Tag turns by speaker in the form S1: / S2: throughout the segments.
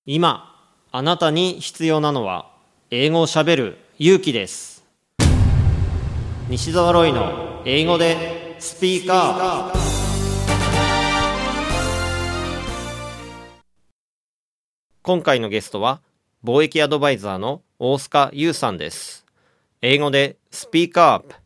S1: 今あなたに必要なのは英語をしゃべる勇気です。西澤ロイの英語でスピーカー。今回のゲストは貿易アドバイザーの大須賀優さんです。英語でスピーカー。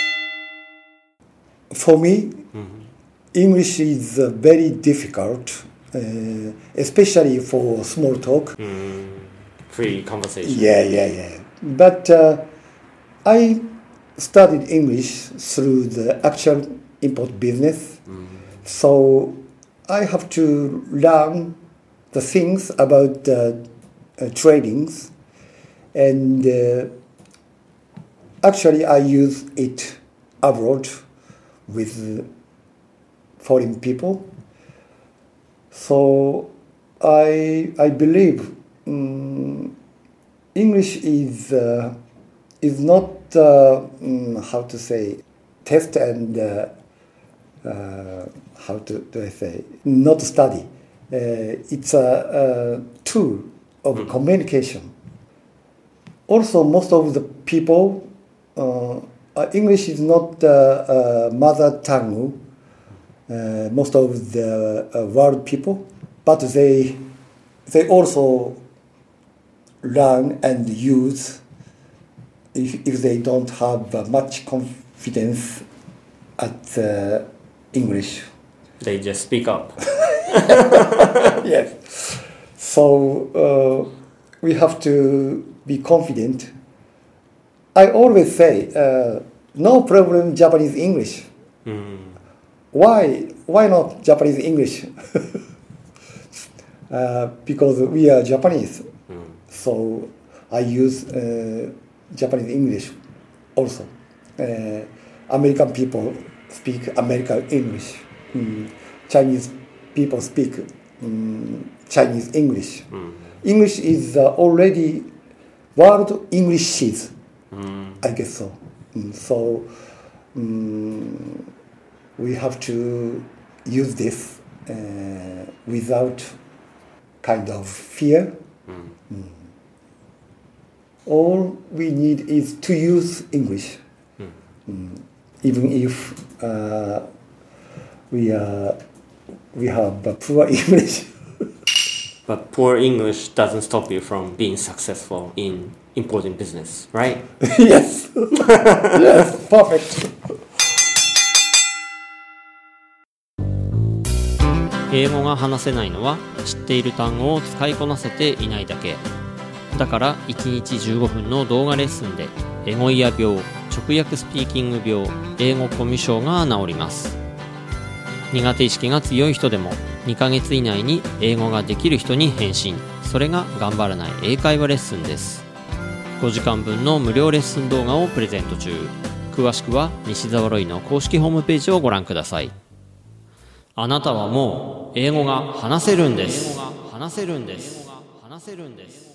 S2: For me, English is very difficult, especially for small talk.
S1: Free conversation.
S2: Yeah. But I studied English through the actual import business, so I have to learn the things about tradings, and actually I use it abroad with foreign people. So I believe English is not how to say test and how do I say not study. It's a tool of communication. Also, most of the people, English is not mother tongue. Most of the world people, but they also learn and use if they don't have much confidence at English.
S1: They just speak up.
S2: Yes. So we have to be confident. I always say, no problem Japanese English. Why not Japanese English? Because we are Japanese. So I use Japanese English also. American people speak American English. Chinese people speak Chinese English. English is already world Englishes. I guess so. So we have to use this without kind of fear. All we need is to use English, even if we have poor English.
S1: But poor English doesn't stop you from being successful in importing business, right?
S2: Yes. Yes, perfect.
S1: 英語が話せないのは知っている単語を使いこなせていないだけ。だから1日15分の動画レッスンでエゴイヤ病、直訳スピーキング病、英語コミュ障が治ります。苦手意識が強い人でも2ヶ月以内に英語ができる人に変身。それが頑張らない英会話レッスンです。5時間分の無料レッスン動画をプレゼント中。詳しくは西澤ロイの公式ホームページをご覧ください。あなたはもう英語が話せるんです。